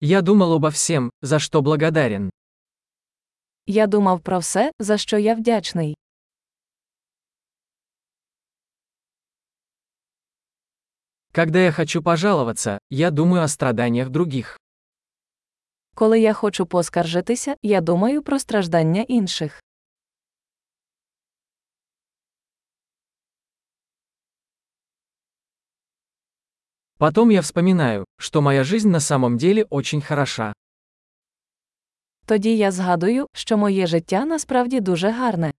Я думал обо всем, за что благодарен. Я думав про все, за що я вдячний. Когда я хочу пожаловаться, я думаю о страданиях других. Коли я хочу поскаржитися, я думаю про страждання інших. Потом я вспоминаю, что моя жизнь на самом деле очень хороша. Тоді я згадую, що моє життя насправді дуже гарне.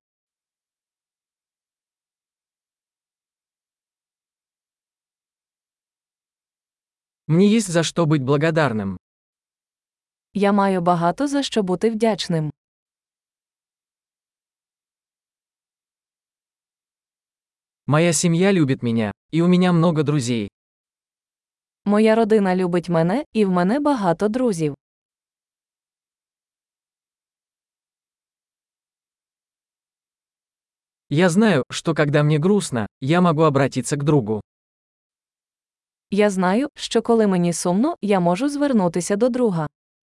Мне есть за что быть благодарным. Я маю багато за що бути вдячним. Моя семья любит меня, и у меня много друзей. Моя родина любить мене, і в мене багато друзів. Я знаю, что когда мне грустно, я могу обратиться к другу. Я знаю, що коли мені сумно, я можу звернутися до друга.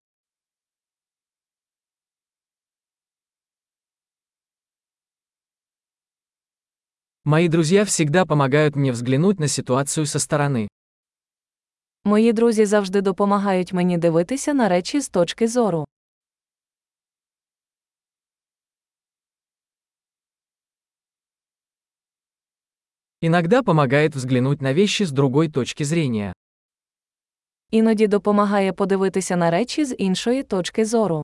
Мои друзья всегда помогают мне взглянуть на ситуацию со стороны. Мої друзі завжди допомагають мені дивитися на речі з точки зору. Иногда помогает взглянуть на вещи с другой точки зрения. Іноді допомагає подивитися на речі з іншої точки зору.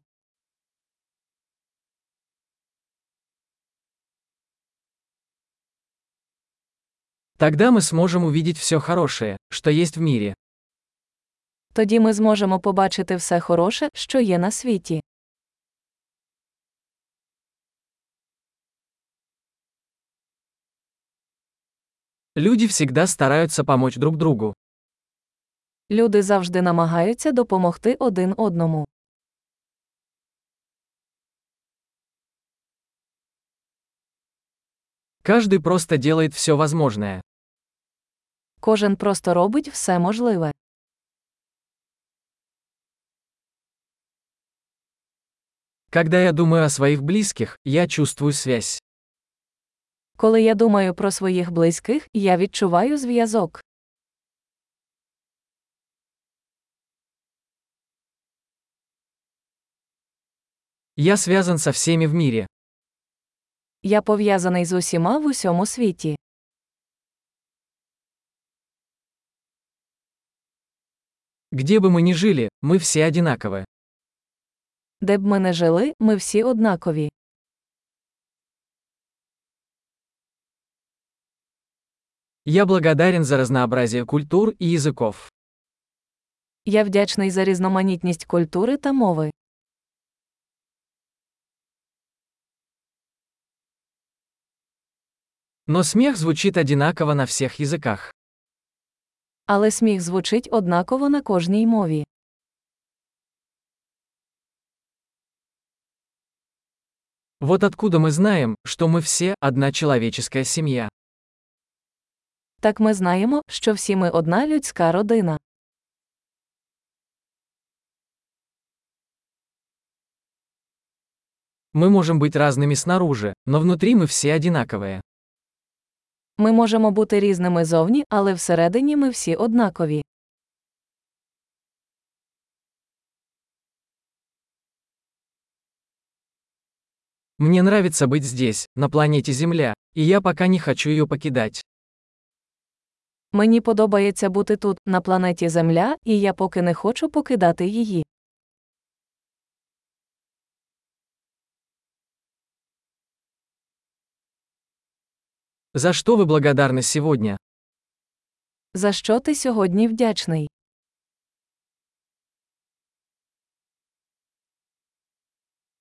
Тогда мы сможем увидеть все хорошее, что есть в мире. Тоді ми зможемо побачити все хороше, що є на світі. Люди всегда стараются помочь друг другу. Люди завжди намагаються допомогти один одному. Каждый просто делает все возможное. Кожен просто робить все можливе. Когда я думаю о своих близких, я чувствую связь. Коли я думаю про своїх близьких, я відчуваю зв'язок. Я связан со всеми в мире. Я пов'язаний з усіма в усьому світі. Где бы мы ни жили, мы все одинаковы. Де б ми не жили, ми всі однакові. Я благодарен за разнообразие культур и языков. Я вдячний за різноманітність культури та мови. Но смех звучит одинаково на всех языках. Але сміх звучить однаково на кожній мові. Вот откуда мы знаем, что мы все одна человеческая семья. Так ми знаємо, що всі ми одна людська родина. Мы можем быть разными снаружи, но внутри мы все одинаковые. Ми можемо бути різними зовні, але всередині ми всі однакові. Мне нравится быть здесь, на планете Земля, и я пока не хочу ее покидать. Мені подобається бути тут, на планеті Земля, і я поки не хочу покидати її. За что вы благодарны сегодня? За що ти сьогодні вдячний?